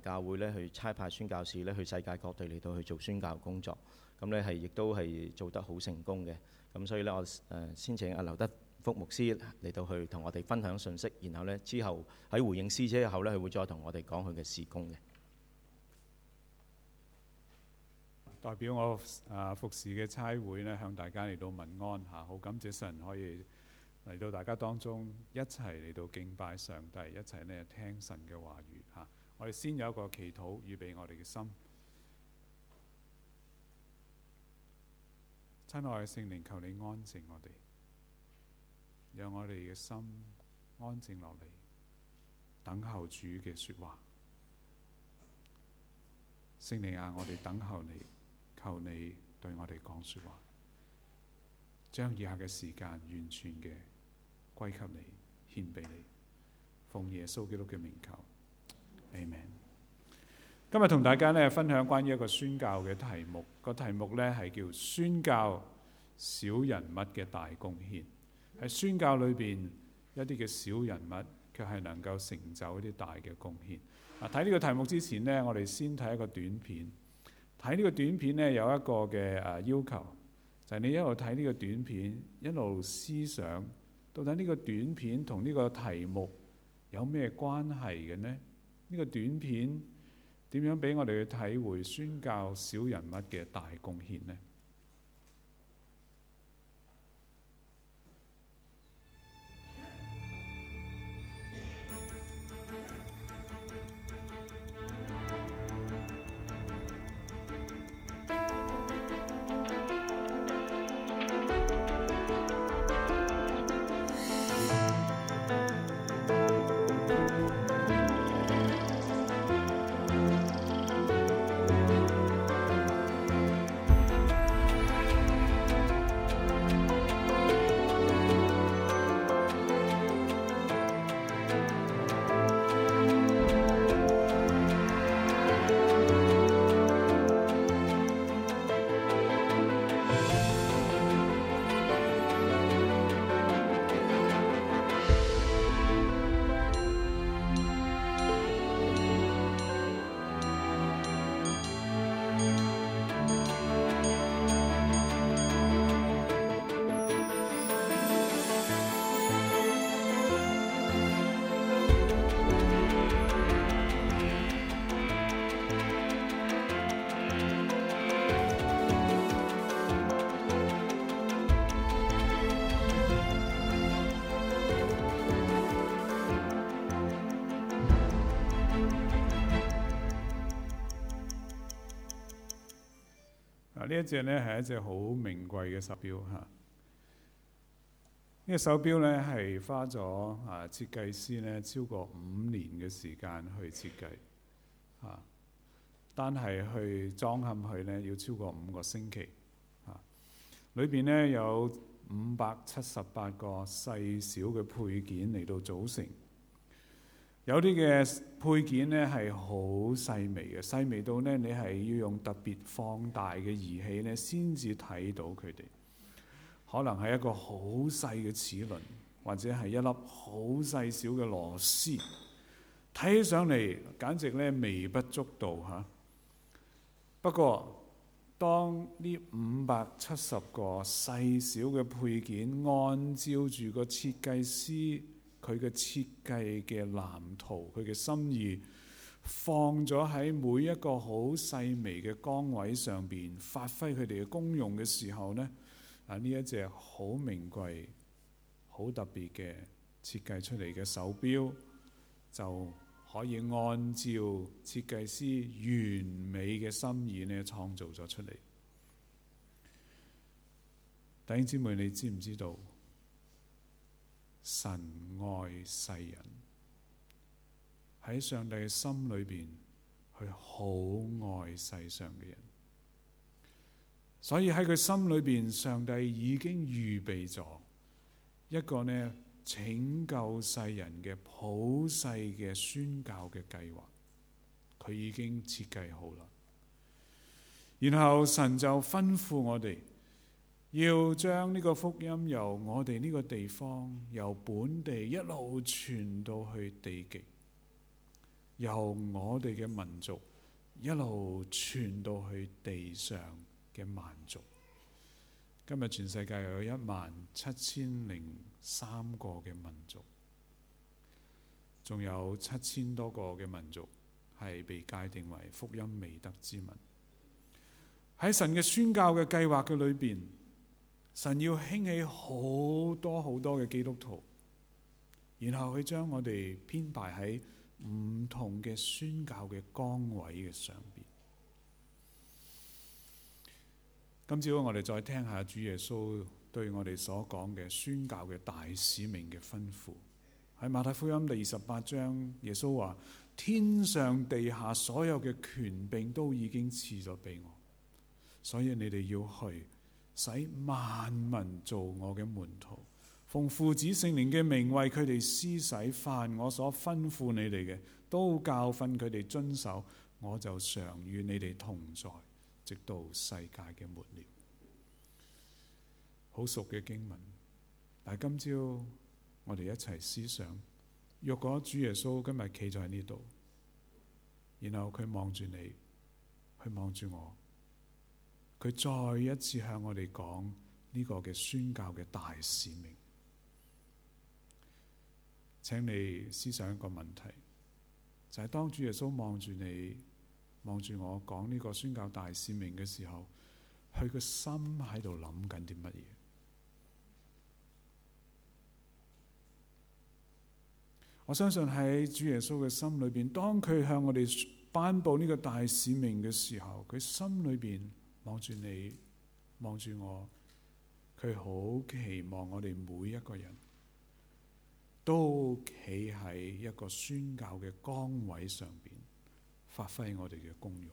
教會咧去差派宣教士咧去世界各地嚟到去做宣教工作，咁咧亦都係做得好成功嘅。咁所以咧我先請阿劉德福牧師嚟到去同我哋分享信息，然後咧之後喺回應詩之後咧，佢會再同我哋講佢嘅事工嘅。 代表我服侍嘅差會咧，向大家嚟到問安嚇，好感謝神可以嚟到大家當中一齊嚟到敬拜上帝，一齊咧聽神嘅話語嚇。我哋先有一個祈禱，預備我哋嘅心。親愛嘅聖靈，求你安靜我哋，讓我哋嘅心安靜落嚟，等候主嘅說話。聖靈啊，我哋等候你，求你對我哋講說話，將以下嘅時間完全嘅歸給你，獻俾你，奉耶穌基督嘅名求，Amen。今日同大家咧分享關於一個宣教嘅題目，個題目咧係叫宣教小人物嘅大貢獻。喺宣教裏邊一啲嘅小人物，卻係能夠成就一啲大嘅貢獻。睇呢個題目之前呢，我哋先睇一個短片。睇呢個短片呢，有一個嘅要求，就係你一路睇呢個短片，一路思想到底呢個短片同呢個題目有咩關係嘅呢？呢個短片點樣俾我哋去體會宣教小人物嘅大貢獻呢？呢一隻呢係一隻好名貴嘅手錶嚇。呢個手錶呢係花咗設計師呢超過5年嘅時間去設計嚇，單係去裝嵌佢呢要超過5個星期嚇。裏邊呢有578個細小嘅配件嚟到組成。有啲嘅配件呢係好細微嘅，細微到呢你係要用特別放大嘅儀器呢先至睇到佢哋。可能係一個好細嘅齒輪，或者係一粒好細小嘅螺絲，睇起上嚟簡直呢微不足道嚇。不過當呢570個細小嘅配件按照住個設計師佢嘅設計嘅藍圖，佢嘅心意放咗喺每一個好細微嘅崗位上邊，發揮佢哋嘅功用嘅時候呢，呢一隻好名貴、好特別嘅設計出嚟嘅手錶，就可以按照設計師完美嘅心意呢創造咗出嚟。弟兄姊妹，你知唔知道？神愛世人，喺上帝嘅心裏邊，佢好愛世上嘅人，所以喺佢心裏邊，上帝已經預備咗一個呢拯救世人嘅普世嘅宣教嘅計劃，佢已經設計好啦。然後神就吩咐我哋，要將呢個福音由我哋呢個地方，由本地一路傳到去地極。 由我哋嘅民族一路傳到去地上嘅萬族。今日全世界有17003個嘅民族，仲有7000多個嘅民族係被界定為福音未得之民。喺神嘅宣教嘅計劃嘅裏邊，神要興起好多好多嘅基督徒，然後佢將我哋編排喺唔同嘅宣教嘅崗位嘅上邊。今朝我哋再聽下主耶穌對我哋所講嘅宣教嘅大使命嘅吩咐。喺馬太福音第28章，耶穌話：天上地下所有嘅權柄都已經賜咗俾我，所以你哋要去，使萬民做我嘅門徒，奉父子聖靈嘅名為佢哋施洗，凡我所吩咐你哋嘅，都教訓佢哋遵守，我就常與你哋同在，直到世界嘅末了。好熟嘅經文，但係今朝我哋一齊思想，若果主耶穌今日企咗喺呢度，然後佢望住你，佢望住我，佢再一次向我哋講呢個嘅宣教嘅大使命，請你思想一個問題，就係當主耶穌望住你，望住我講呢個宣教大使命嘅時候，佢個心喺度諗緊啲乜嘢？我相信喺主耶穌嘅心裏邊，當佢向我哋頒布呢個大使命嘅時候，佢心裏邊望住你，望住我，佢好期望我哋每一個人都企喺一個宣教嘅崗位上邊，發揮我哋嘅功用。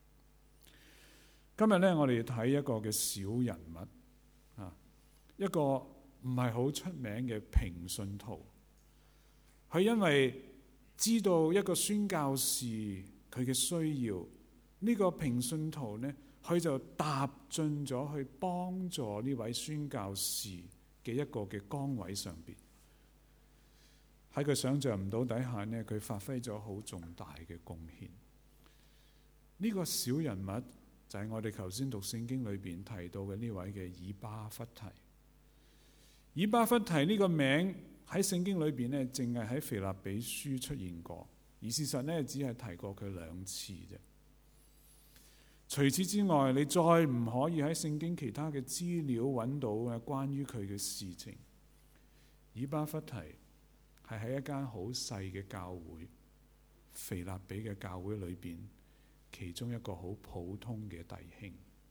今日呢，我哋睇一個嘅小人物啊，一個唔係好出名嘅平信徒。佢因為知道一個宣教士佢嘅需要，呢個平信徒呢，佢就踏進咗去幫助呢位宣教士嘅一個嘅崗位上邊。喺佢想象唔到底下呢，佢發揮咗好重大嘅貢獻。呢個小人物就係我哋頭先讀聖經裏邊提到嘅呢位嘅以巴弗提。以巴弗提呢個名喺聖經裏邊呢，淨係喺腓立比書出現過，而事實呢，只係提過佢2次啫。除此之外，你再唔可以喺聖經其他嘅資料揾到關於佢嘅事情。以巴弗提係喺一間好細嘅教會，腓立比嘅教會裏邊，其中一個好普通嘅弟兄。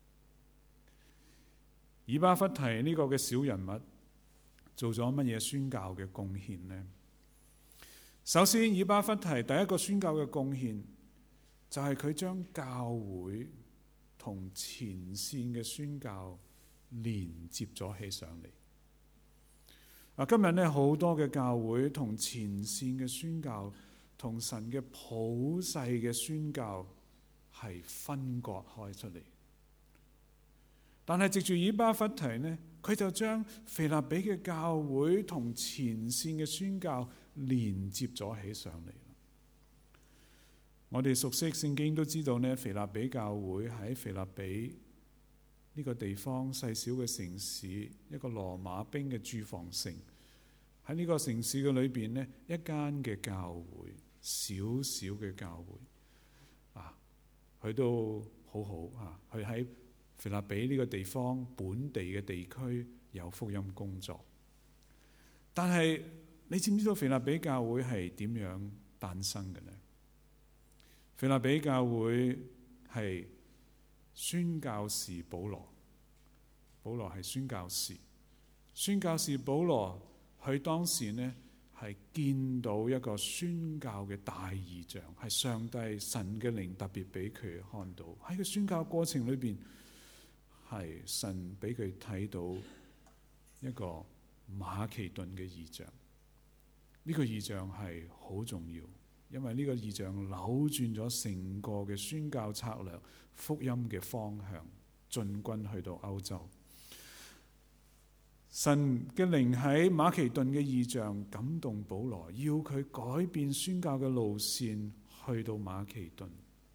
以巴弗提呢個嘅小人物做咗乜嘢宣教嘅貢獻呢？首先，以巴弗提第一個宣教嘅貢獻就係佢將教會同前線嘅宣教連接咗起上嚟。今日呢，好多嘅教會同前線嘅宣教同神嘅普世嘅宣教係分割開出嚟。但係藉住以巴弗提呢，佢就將腓立比嘅教會同前線嘅宣教連接咗起上嚟。我哋熟悉聖經都知道呢，腓立比教會喺腓立比呢個地方細小嘅城市，一個羅馬兵嘅駐防城。喺呢個城市嘅裏邊呢，一間嘅教會，小小嘅教會佢都好好佢喺腓立比呢個地方本地嘅地區有福音工作。但係你知唔知道腓立比教會係點樣誕生嘅呢？腓立比教會係宣教士保羅，保羅係宣教士，宣教士保羅佢當時呢係見到一個宣教嘅大異象，係上帝神嘅靈特別俾佢看到。喺個宣教過程裏邊，係神俾佢睇到一個馬其頓嘅異象。呢個異象係好重要，因為呢個異象扭轉咗成個嘅宣教策略、福音嘅方向，進軍去到歐洲。神嘅靈喺馬其頓嘅異象感動保羅，要佢改變宣教嘅路線， 去到馬其頓。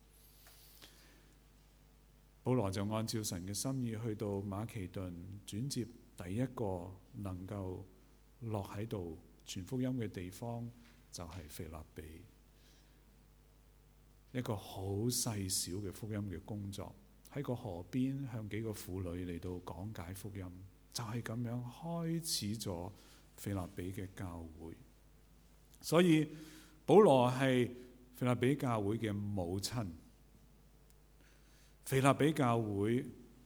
保羅就按照神嘅心意去到馬其頓，轉接第一個能夠落喺度傳福音嘅地方就係腓立比，一個好細小嘅福音嘅工作，喺個河邊向幾個婦女嚟到講解福音，就係咁樣開始咗腓立比嘅教會。所以保羅係腓立比教會嘅母親。腓立比教會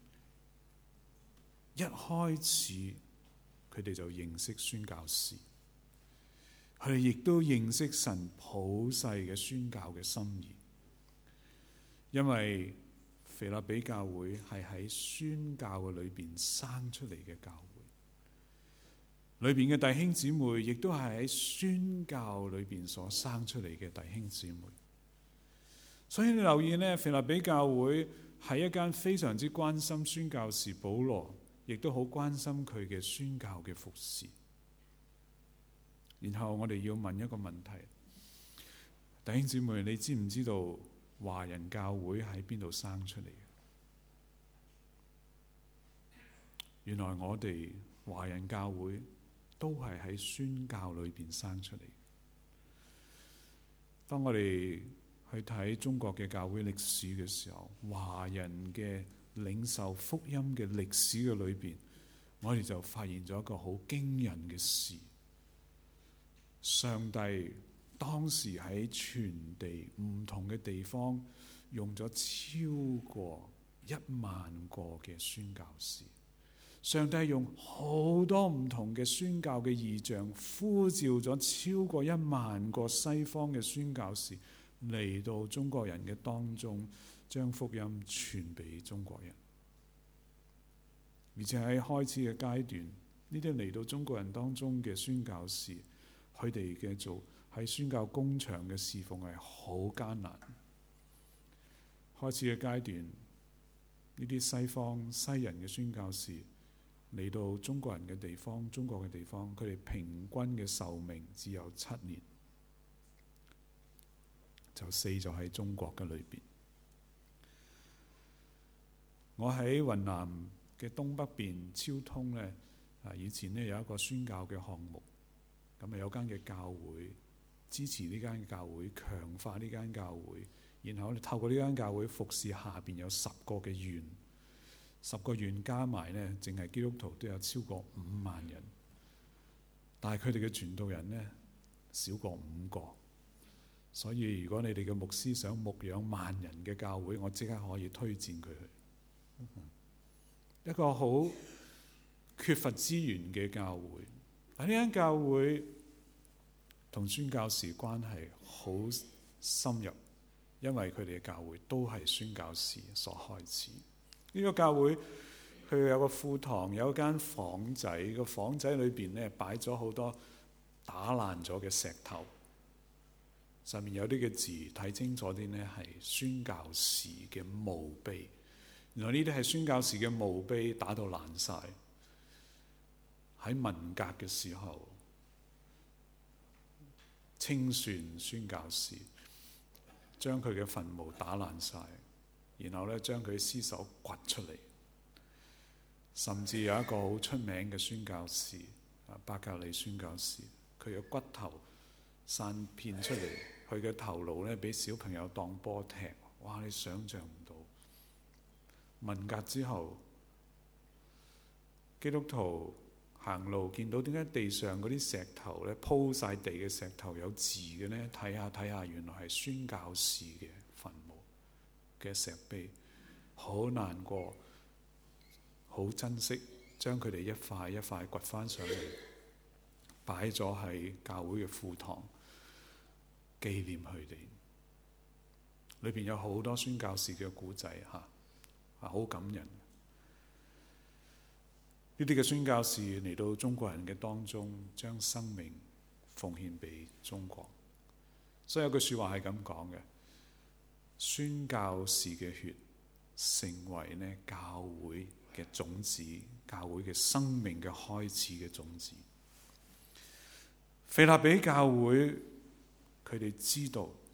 一開始佢哋就認識宣教士，佢哋亦都認識神普世嘅宣教嘅心意，因為腓立比教會係喺宣教嘅裏邊生出嚟嘅教會，裏邊嘅弟兄姊妹亦都係喺宣教裏邊所生出嚟嘅弟兄姊妹。所以你留意呢，腓立比教會係一間非常之關心宣教士保羅，亦都好關心佢嘅宣教嘅服事。然後我哋要問一個問題，弟兄姊妹，你知唔知道華人教會喺邊度生出嚟嘅？原來我哋華人教會都係喺宣教裏邊生出嚟。當我哋去睇中國嘅教會歷史嘅時候，華人嘅領受福音嘅歷史嘅裏邊，我哋就發現咗一個好驚人嘅事。上帝當時喺全地唔同嘅地方用咗超過10000個嘅宣教士，上帝用好多唔同嘅宣教嘅異象，呼召咗超過10000個西方嘅宣教士嚟到中國人嘅當中，將福音傳俾中國人。而且喺開始嘅階段，呢啲嚟到中國人當中嘅宣教士，佢哋嘅做喺宣教工場嘅侍奉係好艱難。開始嘅階段，呢啲西方西人嘅宣教士嚟到中國人嘅地方，中國嘅地方，佢哋平均嘅壽命只有7年。就死咗喺中國嘅裏邊。我喺雲南嘅東北邊昭通呢，以前呢有一個宣教嘅項目，咁有間嘅教會支持呢間嘅教會，強化呢間教會，然後透過呢間教會服侍下邊有10個嘅縣，10個縣加埋呢，淨係基督徒都有超過5萬人，但係佢哋嘅傳道人呢，少過5個。所以如果你哋嘅牧師想牧養10000人嘅教會，我即刻可以推薦佢去。一個好缺乏資源嘅教會，但呢間教會同宣教士關係好深入，因為佢哋嘅教會都係宣教士所開始。呢個教會佢有個庫堂，有一間房仔，個房仔裏邊呢擺咗好多打爛咗嘅石頭。上面有啲嘅字，睇清楚啲呢係宣教士嘅墓碑。原來呢啲係宣教士嘅墓碑，打到爛晒。喺文革嘅時候，清算宣教士，將佢嘅墳墓打爛晒，然後呢將佢屍首掘出嚟。甚至有一個好出名嘅宣教士，伯格利宣教士，佢嘅骨頭散遍出嚟。佢嘅頭顱呢，俾小朋友當波踢，哇！你想象唔到。文革之後，基督徒行路見到點解地上嗰啲石頭呢，鋪晒地嘅石頭有字嘅呢？睇下睇下，原來係宣教士嘅墳墓嘅石碑，好難過，好珍惜，將佢哋一塊一塊掘翻上嚟，擺咗喺教會嘅庫堂。紀念佢哋，裏邊有好多宣教士嘅故仔好感人。呢啲嘅宣教士嚟到中國人嘅當中，將生命奉獻俾中國。所以有句説話係咁講嘅：宣教士嘅血成為呢教會嘅種子，教會嘅生命嘅開始嘅種子。腓立比教會。佢哋知道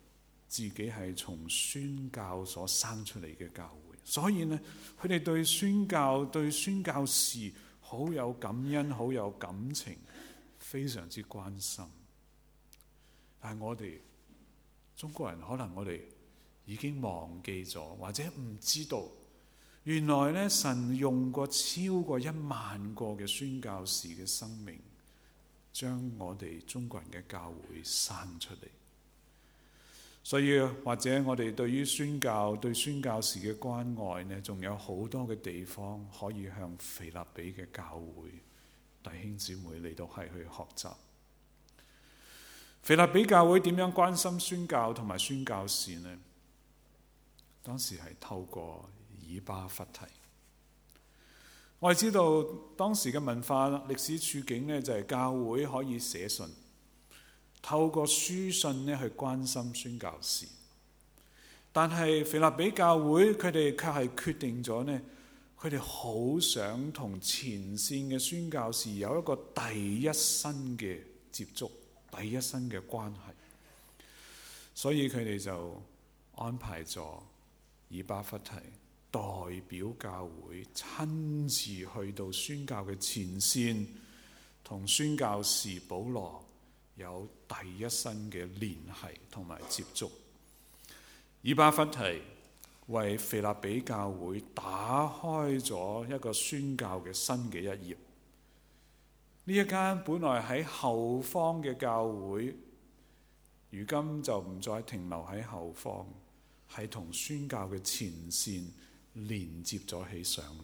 自己係從宣教所生出嚟嘅教會，所以呢，佢哋對宣教士好有感恩，好有感情，非常之關心。但係我哋中國人可能我哋已經忘記咗，或者唔知道，原來呢，神用過超過10000個嘅宣教士嘅生命，將我哋中國人嘅教會生出嚟。所以或者我哋對於宣教對宣教士嘅關愛呢，仲有好多嘅地方可以向腓立比嘅教會弟兄姊妹嚟到係去學習。腓立比教會點樣關心宣教同埋宣教士呢？當時係透過以巴弗提。我哋知道當時嘅文化歷史處境呢，就係教會可以寫信，透過書信呢去關心宣教士。但係腓立比教會佢哋卻係決定咗呢，佢哋好想同前線嘅宣教士有一個第一身嘅接觸，第一身嘅關係。所以佢哋就安排咗以巴弗提代表教會親自去到宣教嘅前線，同宣教士保羅有第一身嘅聯繫同埋接觸。以巴弗提為腓立比教會打開咗一個宣教嘅新嘅一頁。呢一間本來喺後方嘅教會，如今就唔再停留喺後方，係同宣教嘅前線連接咗起上嚟。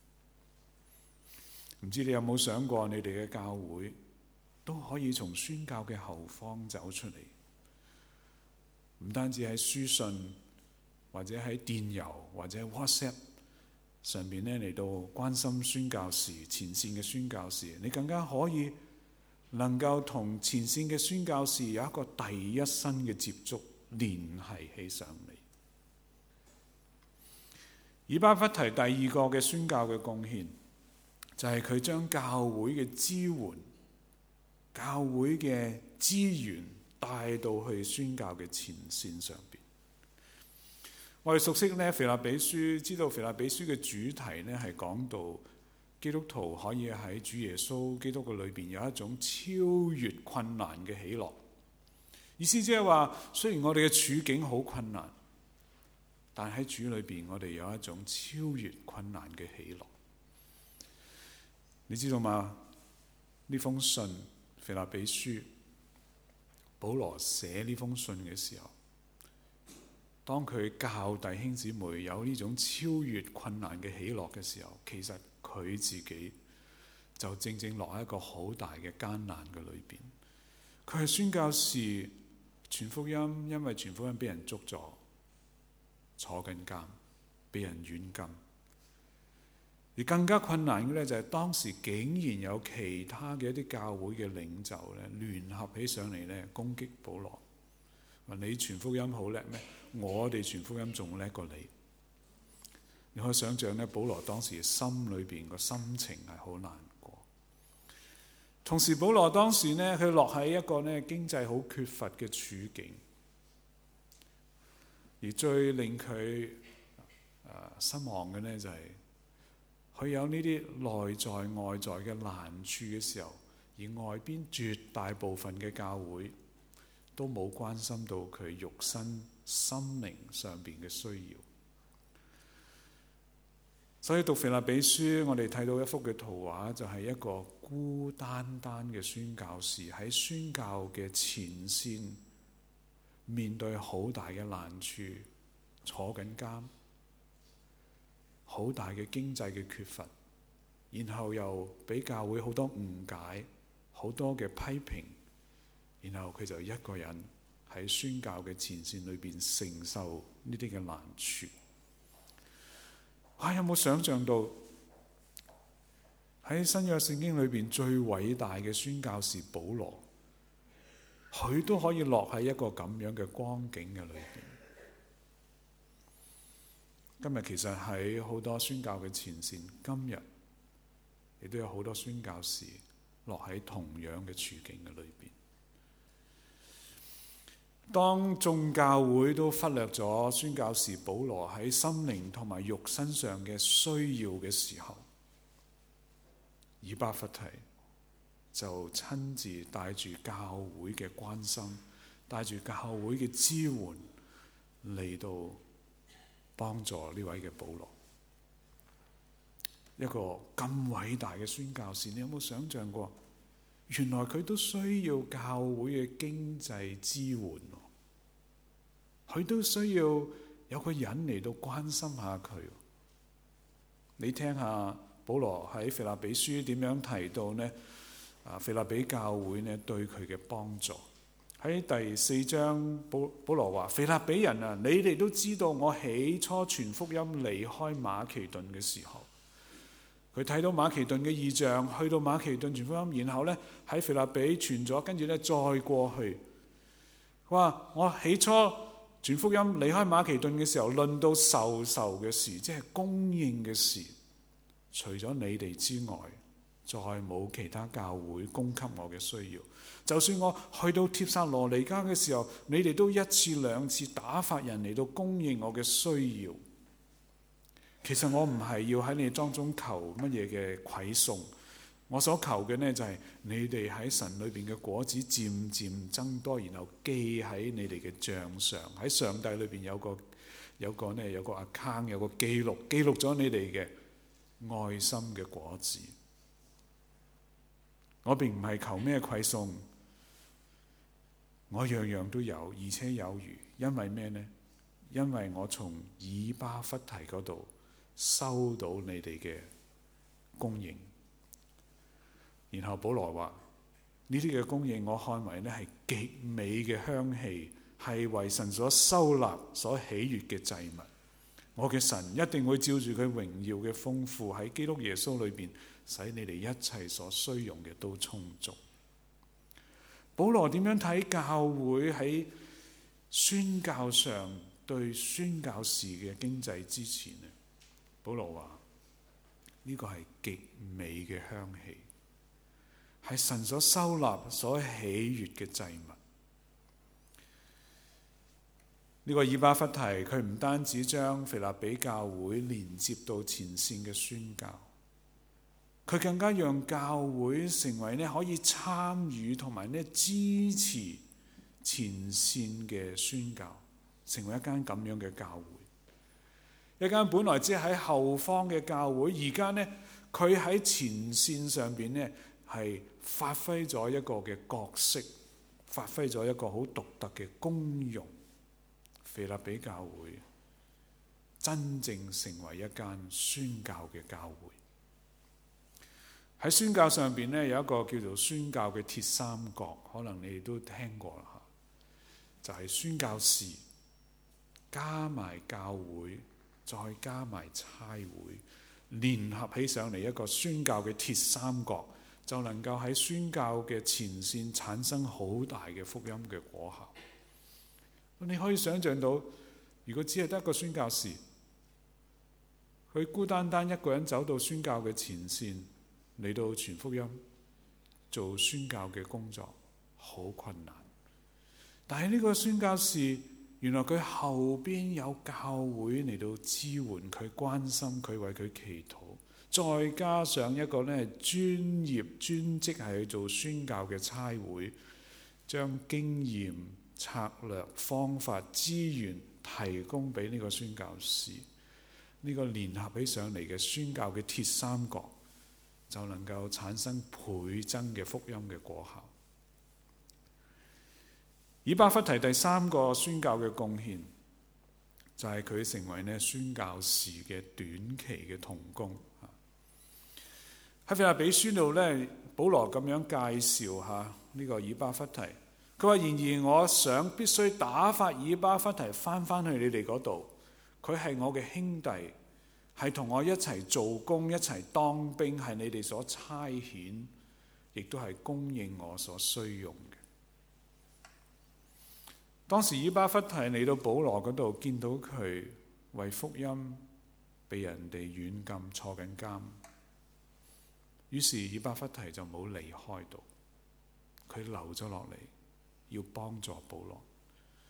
唔知你有冇想過，你哋嘅教會都可以從宣教嘅後方走出嚟，唔單止喺書信或者喺電郵或者 WhatsApp 上邊咧嚟到關心宣教士，前線嘅宣教士，你更加可以能夠同前線嘅宣教士有一個第一身嘅接觸，聯繫起上嚟。以巴弗提第二個嘅宣教嘅貢獻，就係佢將教會嘅支援、教會嘅資源帶到去宣教嘅前線上邊。我哋熟悉呢腓立比書，知道腓立比書嘅主題呢係講到基督徒可以喺主耶穌基督嘅裏邊有一種超越困難嘅喜樂。意思即係話，雖然我哋嘅處境好困難，但喺主裏邊我哋有一種超越困難嘅喜樂。你知道嗎？呢封信腓立比書，保羅寫呢封信嘅時候，當佢教弟兄姊妹有呢種超越困難嘅喜樂嘅時候，其實佢自己就正正落喺一個好大嘅艱難嘅裏邊。佢係宣教士，傳福音，因為傳福音俾人捉咗，坐緊監，俾人軟禁。而更加困難嘅咧，就係當時竟然有其他嘅一啲教會嘅領袖咧，聯合起上嚟咧攻擊保羅。話你傳福音好叻咩？我哋傳福音仲叻過你。你可以想象咧，保羅當時心裏邊個心情係好難過。同時，保羅當時咧，佢落喺一個咧經濟好缺乏嘅處境，而最令佢失望嘅咧就係佢有呢啲內在外在嘅難處嘅時候，而外邊絕大部分嘅教會都冇關心到佢肉身心靈上邊嘅需要。所以讀腓立比書，我哋睇到一幅嘅圖畫，就係一個孤單單嘅宣教士喺宣教嘅前線，面對好大嘅難處，坐緊監，好大嘅經濟嘅缺乏，然後又俾教會好多誤解，好多嘅批評，然後佢就一個人喺宣教嘅前線裏邊承受呢啲嘅難處。有冇想象到喺新約聖經裏邊最偉大嘅宣教士保羅，佢都可以落喺一個咁樣嘅光景嘅裏邊。今日其實喺好多宣教嘅前線，今日亦都有好多宣教士落喺同樣嘅處境嘅裏邊。 當眾教會都忽略咗宣教士保羅喺心靈同埋肉身上嘅需要嘅時候，以巴弗提就親自帶住教會嘅關心，帶住教會嘅支援嚟到幫助呢位嘅保羅。一個咁偉大嘅宣教士，你有冇想象過？原來佢都需要教會嘅經濟支援，佢都需要有個人嚟到關心下佢。你聽下保羅喺腓立比書點樣提到呢？腓立比教會呢對佢嘅幫助。喺第4章，保羅話：腓立比人啊，你哋都知道我起初傳福音離開馬其頓嘅時候，佢睇到馬其頓嘅異象，去到馬其頓傳福音，然後呢喺腓立比傳咗，跟住呢再過去。佢話：我起初傳福音離開馬其頓嘅時候，論到授受嘅事，即係供應嘅事，除咗你哋之外，再冇其他教會供給我嘅需要。就算我去到帖撒羅尼迦嘅時候，你哋都一次兩次打發人嚟到供應我嘅需要。其實我唔係要喺你哋當中求乜嘢嘅饋送，我所求嘅呢，就係你哋喺神裏邊嘅果子漸漸增多，然後記喺你哋嘅帳上，喺上帝裏邊有個 account， 有個記錄咗你哋嘅愛心嘅果子。我並唔係求咩饋送，我樣樣都有，而且有餘。因為咩呢？因為我從以巴弗提嗰度收到你哋嘅供應。然後保羅話：呢啲嘅供應，我看為呢係極美嘅香氣，係為神所收納、所喜悅嘅祭物。我嘅神一定會照住佢榮耀嘅豐富喺基督耶穌裏邊，使你哋一切所需用嘅都充足。保羅點樣睇教會喺宣教上對宣教士嘅經濟支持呢？保羅話呢個係極美嘅香氣，係神所收納、所喜悅嘅祭物。呢個以巴弗提，佢唔單止將腓立比教會連接到前線嘅宣教，佢更加讓教會成為可以參與同埋支持前線嘅宣教，成為一間咁樣嘅教會。一間本來只係喺後方嘅教會，而家佢喺前線上邊係發揮咗一個嘅角色，發揮咗一個好獨特嘅功用。腓立比教會真正成為一間宣教嘅教會。喺宣教上邊有一個叫做宣教嘅鐵三角，可能你哋都聽過啦，就係宣教士加埋教會，再加埋差會，聯合起上嚟一個宣教嘅鐵三角，就能夠喺宣教嘅前線產生好大嘅福音嘅果效。你可以想象到，如果只係得一個宣教士，佢孤單單一個人走到宣教嘅前線嚟到傳福音、做宣教嘅工作，好困難。但係呢個宣教士，原來佢後邊有教會嚟到支援佢、關心佢、為佢祈禱，再加上一個專業專職係去做宣教嘅差會，將經驗、策略、方法、資源提供俾呢個宣教士，呢個聯合起上嚟嘅宣教嘅鐵三角，就能夠產生倍增嘅福音嘅果效。以巴弗提第三個宣教嘅貢獻，就係佢成為宣教士嘅短期嘅同工。喺腓立比書度保羅咁樣介紹下呢個以巴弗提。佢話：然而我想必須打發以巴弗提翻去你哋嗰度，佢係我嘅兄弟，係同我一齊做工、一齊當兵，係你哋所差遣，亦都係供應我所需用嘅。當時以巴弗提嚟到保羅嗰度，見到佢為福音被人哋軟禁坐緊監，於是以巴弗提就冇離開到，佢留咗落嚟，要幫助保羅。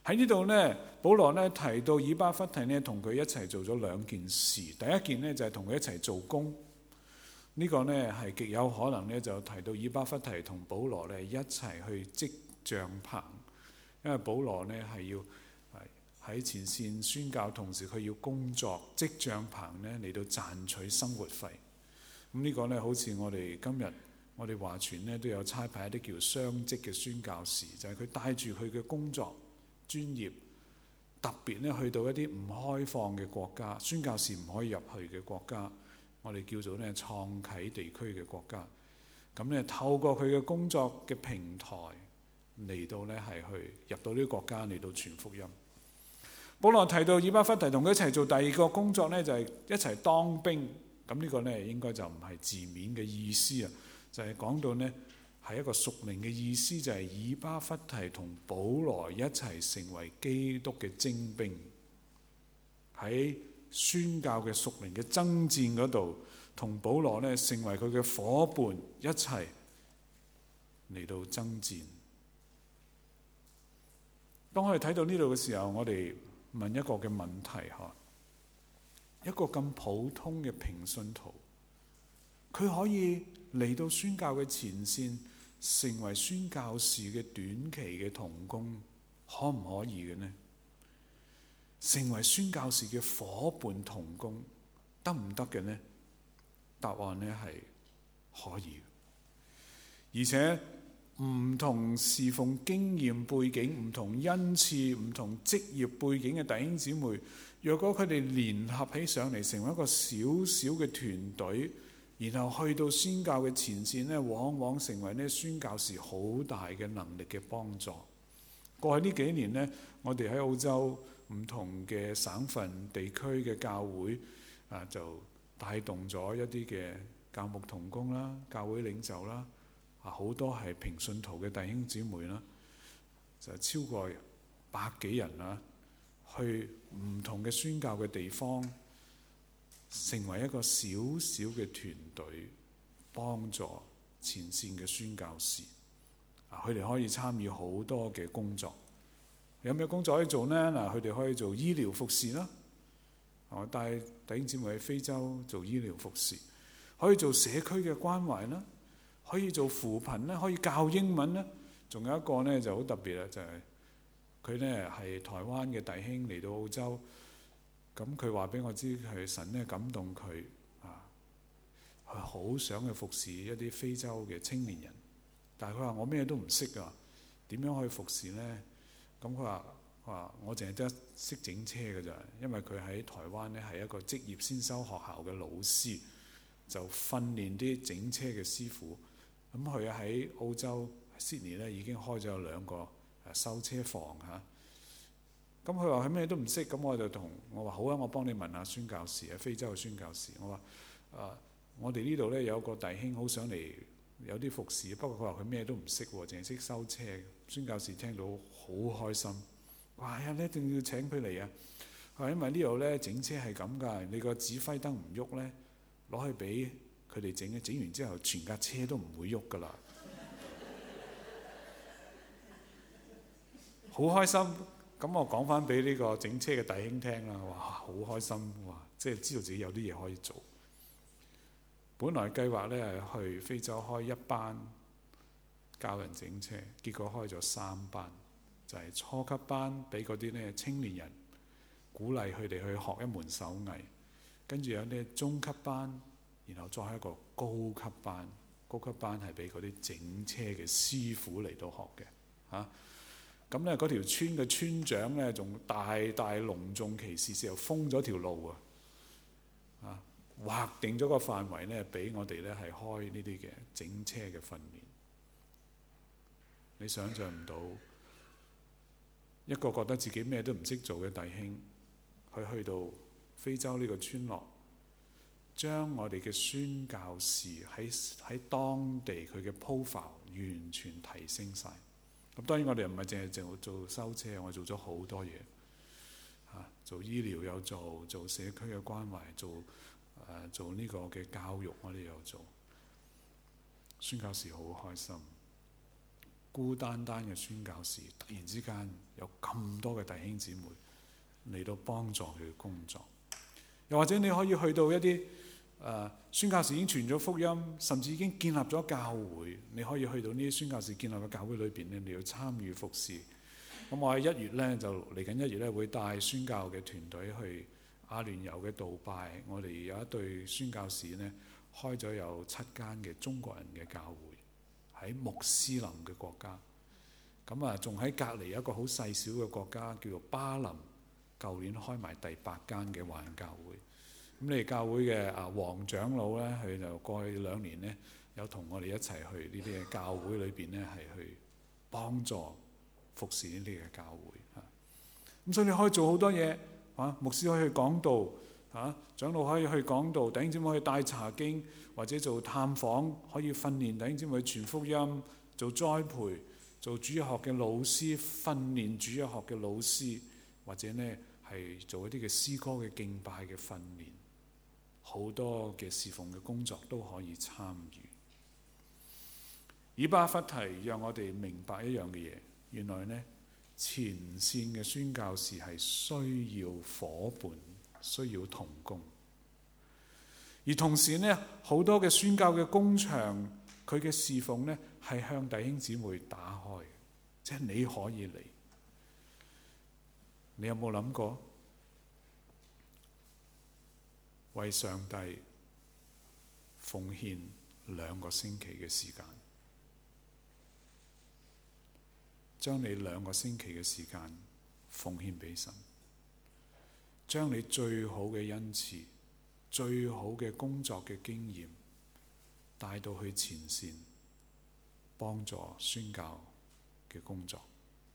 喺呢度呢，保羅呢提到以巴弗提呢同佢一齊做咗兩件事。第一件呢就係同佢一齊做工，呢個呢係極有可能呢就提到以巴弗提同保羅呢一齊去織帳棚，因為保羅呢係要喺前線宣教，同時佢要工作織帳棚呢嚟到賺取生活費。咁呢個呢好似我哋今日我哋華傳呢都有差派一啲叫雙職嘅宣教士，就係佢帶住佢嘅工作專業，特別咧去到一啲唔開放嘅國家，宣教士唔可以入去嘅國家，我哋叫做咧創啟地區嘅國家。咁咧透過佢嘅工作嘅平台嚟到咧係去入到呢啲國家嚟到傳福音。保羅提到以巴弗提同佢一齊做第二個工作咧，就係一齊當兵。咁呢個咧應該就唔係字面嘅意思啊，就係講到呢係一個屬靈嘅意思，就係以巴弗提同保羅一齊成為基督嘅精兵，喺宣教嘅屬靈嘅爭戰嗰度，同保羅呢成為佢嘅夥伴，一齊嚟到爭戰。當我哋睇到呢度嘅時候，我哋問一個嘅問題嚇：一個咁普通嘅平信徒，佢可以嚟到宣教嘅前線，成為宣教士嘅短期嘅同工，可唔可以嘅呢？成為宣教士嘅夥伴同工，得唔得嘅呢？答案呢係可以，而且唔同侍奉經驗背景、唔同恩賜、唔同職業背景嘅弟兄姊妹，若果佢哋聯合起上嚟，成為一個小小嘅團隊，然後去到宣教嘅前線呢，往往成為呢宣教士好大嘅能力嘅幫助。過去呢幾年呢，我哋喺澳洲唔同嘅省份地區嘅教會就帶動咗一啲嘅教牧同工啦、教會領袖啦，好多係平信徒嘅弟兄姊妹啦，就超過100幾人啦，去唔同嘅宣教嘅地方，成為一個小小嘅團隊，幫助前線嘅宣教士。佢哋可以參與好多嘅工作。有咩工作可以做呢？佢哋可以做醫療服侍啦，帶弟兄姊妹喺非洲做醫療服侍，可以做社區嘅關懷啦，可以做扶貧啦，可以教英文啦。仲有一個呢就好特別啦，就係佢呢係台灣嘅弟兄嚟到澳洲，咁佢話俾我知係神呢感動佢佢好想去服侍一啲非洲嘅青年人，但係佢話我咩都唔識啊，點樣可以服侍呢？咁佢話我淨係得識整車㗎咋，因為佢喺台灣呢係一個職業先修學校嘅老師，就訓練啲整車嘅師傅。咁佢喺澳洲 Sydney 呢已經開咗2個修車房嚇。咁佢話佢咩都唔識，咁我話好啊，我幫你問下宣教士啊，非洲嘅宣教士。我話我哋呢度呢有個弟兄好想嚟有啲服侍，不過佢話佢咩都唔識喎，淨係識修車。宣教士聽到好開心，話你一定要請佢嚟啊！因為呢度呢整車係咁㗎，你個指揮燈唔喐呢，攞去俾佢哋整，整完之後全架車都唔會喐㗎啦。好開心！咁我講翻俾呢個整車嘅弟兄聽啦，哇，好開心！哇，即係知道自己有啲嘢可以做。本來計劃呢係去非洲開1班教人整車，結果開咗3班，就係初級班俾嗰啲呢青年人，鼓勵佢哋去學一門手藝，跟住有啲中級班，然後再係一個高級班。高級班係俾嗰啲整車嘅師傅嚟到學嘅。咁呢嗰條村嘅村長呢，仲大隆重其事時候封咗條路啊！劃定咗個範圍呢，俾我哋呢係開呢啲嘅整車嘅訓練。你想象唔到一個覺得自己咩都唔識做嘅弟兄，去到非洲呢個村落，將我哋嘅宣教士喺當地佢嘅 profile 完全提升晒。咁當然我哋唔係淨係做修車，我哋做咗好多嘢，做醫療有做社區嘅關懷，做呢個嘅教育我哋有做。宣教士好開心。 孤單單嘅宣教士，突然之間有咁多嘅弟兄姊妹嚟到幫助佢嘅工作。又或者你可以去到一啲宣教士已經傳咗福音，甚至已經建立咗教會，你可以去到呢啲宣教士建立嘅教會裏邊咧，你要參與服侍。咁我喺1月咧，就嚟緊1月咧，會帶宣教嘅團隊去阿聯酋嘅杜拜。我哋有一隊宣教士咧，開咗有7間嘅中國人嘅教會喺穆斯林嘅國家。咁啊，仲喺隔離一個好細小嘅國家叫做巴林，舊年開埋第8間嘅華人教會。咁你哋教會嘅黃長老咧，佢就過去2年咧，有同我哋一齊去呢啲嘅教會裏邊咧，係去幫助服侍呢啲嘅教會嚇。咁所以你可以做好多嘢嚇，牧師可以去講道嚇，長老可以去講道，弟兄姊妹可以帶查經或者做探訪，可以訓練弟兄姊妹傳福音，做栽培，做主日學嘅老師，訓練主日學嘅老師，或者呢係做一啲嘅詩歌嘅敬拜嘅訓練。好多嘅侍奉嘅工作都可以參與。以巴弗提讓我哋明白一樣嘅嘢，原來呢前線嘅宣教士係需要夥伴，需要同工。而同時呢，好多嘅宣教嘅工場，佢嘅侍奉呢係向弟兄姊妹打開，即係你可以嚟。你有冇諗過？為上帝奉獻2個星期嘅時間，將你2個星期嘅時間奉獻俾神，將你最好嘅恩賜、最好嘅工作嘅經驗帶到去前線，幫助宣教嘅工作。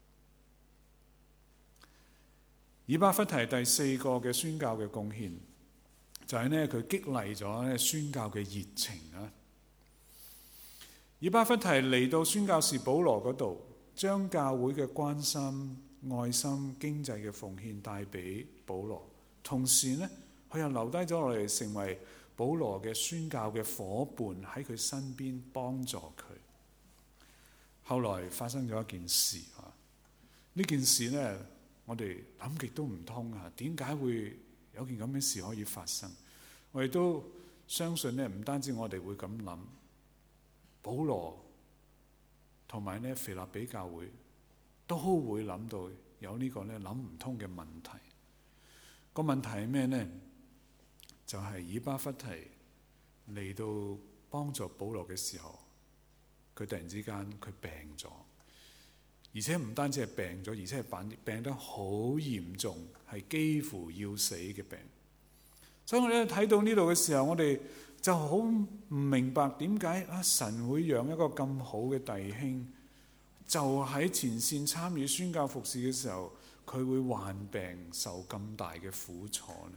以巴弗提第4個嘅宣教嘅貢獻，就係呢，佢激勵咗宣教嘅熱情啊！以巴弗提嚟到宣教士保羅嗰度，將教會嘅關心、愛心、經濟嘅奉獻帶俾保羅，同時呢，佢又留低咗落嚟，成為保羅嘅宣教嘅夥伴，喺佢身邊幫助佢。後來發生咗一件事啊！呢件事呢，我哋諗極都唔通啊！點解會有件咁嘅事可以發生？我哋都相信咧，唔單止我哋會咁諗，保羅同埋咧腓立比教會都會諗到有呢個咧諗唔通嘅問題。個問題係咩呢？就係以巴弗提嚟到幫助保羅嘅時候，佢突然之間佢病咗，而且唔單止係病咗，而且係病得好嚴重，係幾乎要死嘅病。所以我哋睇到呢度嘅時候，我哋就好唔明白點解神會讓一個咁好嘅弟兄，就喺前線參與宣教服侍嘅時候，佢會患病受咁大嘅苦楚呢？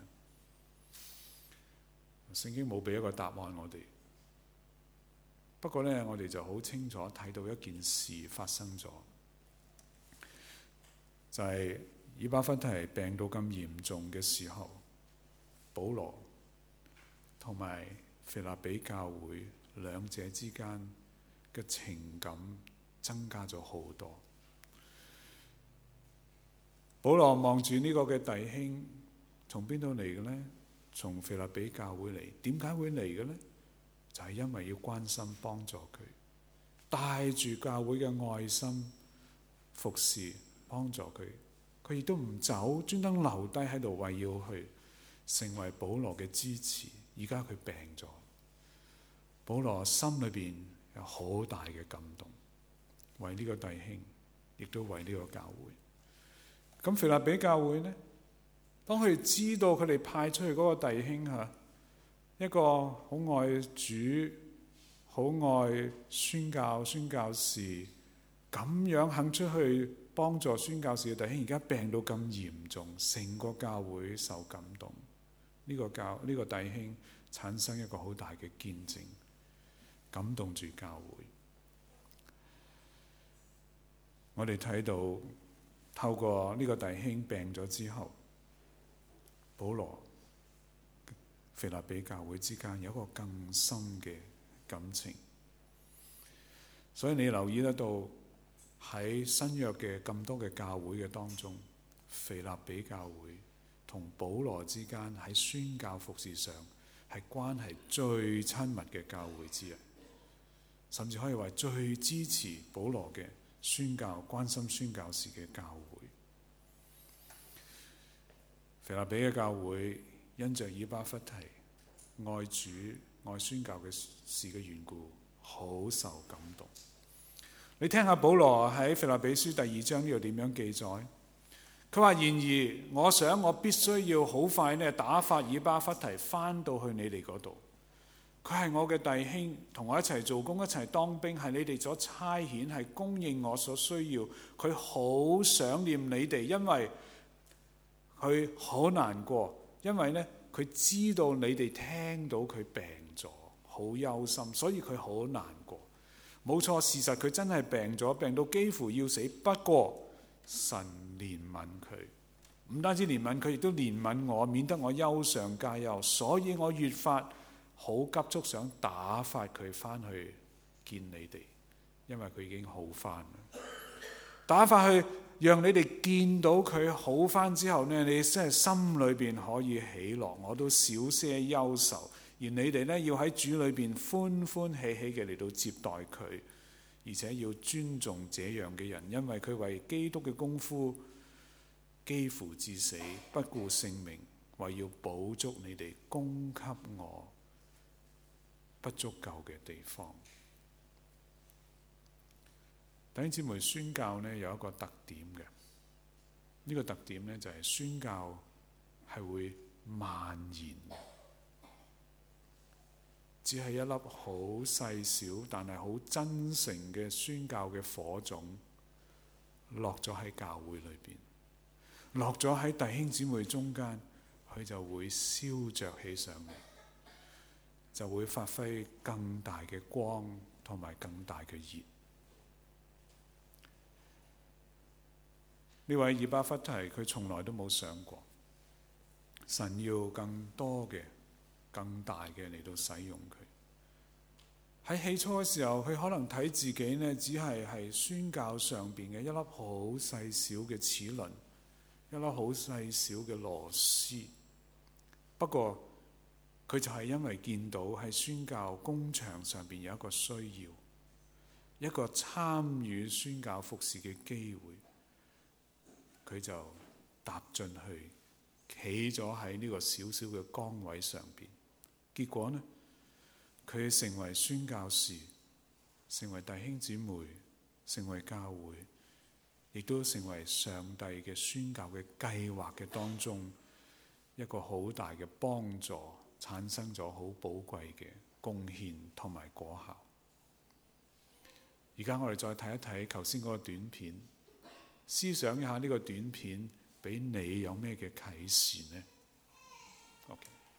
聖經冇俾一個答案我哋，不過呢，我哋就好清楚睇到一件事發生咗，就係以巴弗提病到咁嚴重嘅時候，保羅同埋腓立比教會兩者之間嘅情感增加咗好多。保羅望住呢個嘅弟兄，從邊度嚟嘅呢？從腓立比教會嚟。點解會嚟嘅呢？就係因為要關心幫助佢，帶住教會嘅愛心服侍幫助佢。佢亦都唔走，專登留低喺度，為要去成為保羅嘅支持。而家佢病咗，保羅心裏邊有好大嘅感動，為呢個弟兄，亦都為呢個教會。咁腓立比教會呢，當佢哋知道佢哋派出去嗰個弟兄一個好愛主、好愛宣教士，咁樣肯出去幫助宣教士嘅弟兄，而家病到咁嚴重，成個教會受感動。呢個弟兄產生一個好大嘅見證，感動住教會。我哋睇到透過呢個弟兄病咗之後，保羅、腓立比教會之間有一個更深嘅感情。所以你留意得到喺新約嘅咁多嘅教會嘅當中，腓立比教會同保羅之間喺宣教服事上係關係最親密嘅教會之一，甚至可以話最支持保羅嘅宣教、關心宣教士嘅教會。腓立比嘅教會因着以巴弗提愛主、愛宣教嘅事嘅緣故，好受感動。你聽下保羅喺腓立比書第2章呢度點樣記載？佢話：然而我想我必須要好快呢打發以巴弗提返到去你哋嗰度。佢係我嘅弟兄，同我一齊做工，一齊當兵，係你哋所差遣，係供應我所需要。佢好想念你哋，因為佢好難過，因為呢，佢知道你哋聽到佢病咗，好憂心，所以佢好難過。冇錯，事實佢真係病咗，病到幾乎要死。不過神憐憫佢，唔單止憐憫佢，亦都憐憫我，免得我憂上加憂。所以我越發好急促想打發佢返去見你哋，因為佢已經好返。打發去，讓你哋見到佢好返之後呢，你真係心裏邊可以喜樂，我都少些憂愁。而你哋呢，要喺主裏邊歡歡喜喜嘅嚟到接待佢，而且要尊重這樣嘅人，因為佢為基督嘅功夫幾乎至死，不顧性命，為要補足你哋供給我不足夠嘅地方。弟兄姊妹，宣教呢有一個特點嘅，呢個特點呢就係宣教係會蔓延，只係一粒好細小但係好真誠嘅宣教嘅火種落咗喺教會裏邊，落咗喺弟兄姊妹中間，佢就會燒着起上嚟，就會發揮更大嘅光同埋更大嘅熱。呢位以巴弗提佢從來都冇想過神要更多嘅、更大嘅嚟到使用佢。喺起初嘅時候，佢可能睇自己呢，只係宣教上邊嘅一粒好細小嘅齒輪，一粒好細小嘅螺絲。不過佢就係因為見到喺宣教工場上邊有一個需要，一個參與宣教服事嘅機會，佢就踏進去，企咗喺呢個小小嘅崗位上邊。結果呢，佢成為宣教士，成為弟兄姊妹，成為教會，亦都成為上帝嘅宣教嘅計劃嘅當中一個好大嘅幫助，產生咗好寶貴嘅貢獻同埋果效。而家我哋再睇一睇頭先嗰個短片，思想一下呢個短片俾你有咩嘅啟示呢？OK。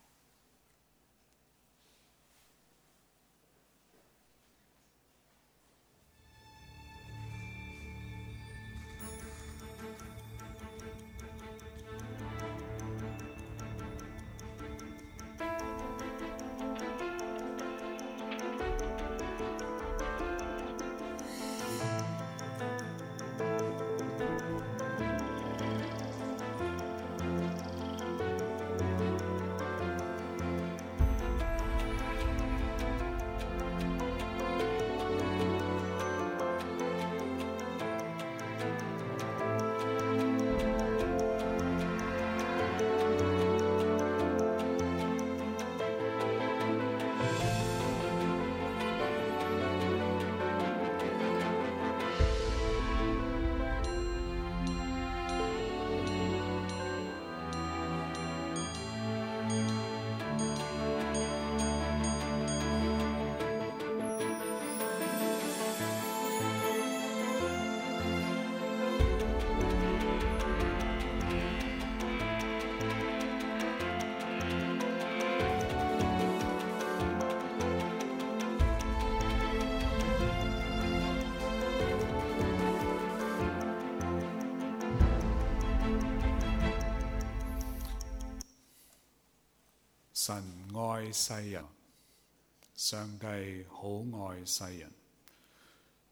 神愛世人，上帝好愛世人，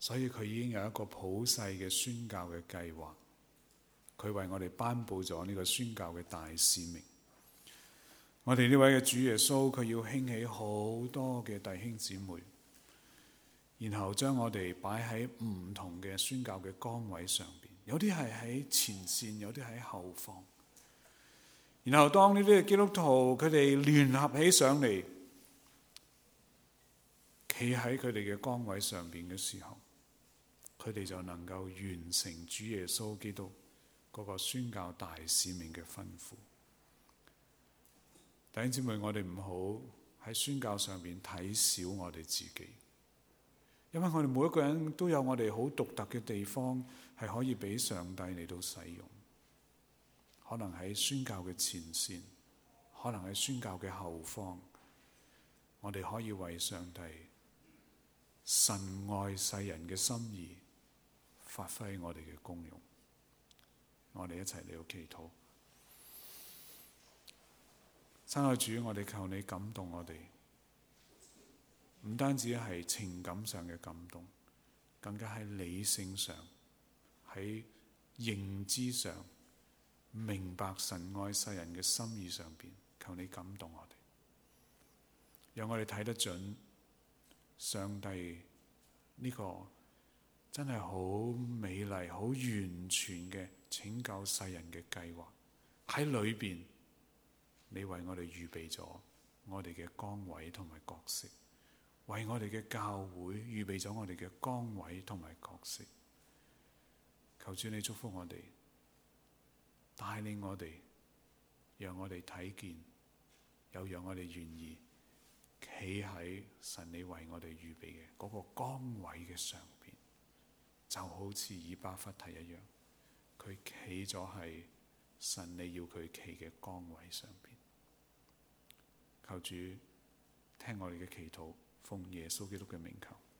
所以佢已經有一個普世嘅宣教嘅計劃，佢為我哋頒布咗呢個宣教嘅大使命。我哋呢位嘅主耶穌，佢要興起好多嘅弟兄姊妹，然後將我哋擺喺唔同嘅宣教嘅崗位上邊，有啲係喺前線，有啲喺後方。然後當呢啲嘅基督徒佢哋聯合起上嚟，企喺佢哋嘅崗位上邊嘅時候，佢哋就能夠完成主耶穌基督嗰個宣教大使命嘅吩咐。弟兄姊妹，我哋唔好喺宣教上邊睇小我哋自己，因為我哋每一個人都有我哋好獨特嘅地方，係可以俾上帝嚟到使用。可能喺宣教嘅前線，可能喺宣教嘅後方，我哋可以為上帝神愛世人嘅心意發揮我哋嘅功用。我哋一齊嚟到祈禱。親愛主，我哋求你感動我哋，唔單止係情感上嘅感動，更加喺理性上，喺認知上，明白神愛世人嘅心意上邊，求你感動我哋，讓我哋睇得準上帝呢個真係好美麗、好完全嘅拯救世人嘅計劃。喺裏邊，你為我哋預備咗我哋嘅崗位同埋角色，為我哋嘅教會預備咗我哋嘅崗位同埋角色。求主你祝福我哋，帶領我哋，讓我哋睇見，又讓我哋願意企喺神你為我哋預備嘅嗰個崗位嘅上邊，就好似以巴弗提一樣，佢企咗喺神你要佢企嘅崗位上邊。求主聽我哋嘅祈禱，奉耶穌基督嘅名求。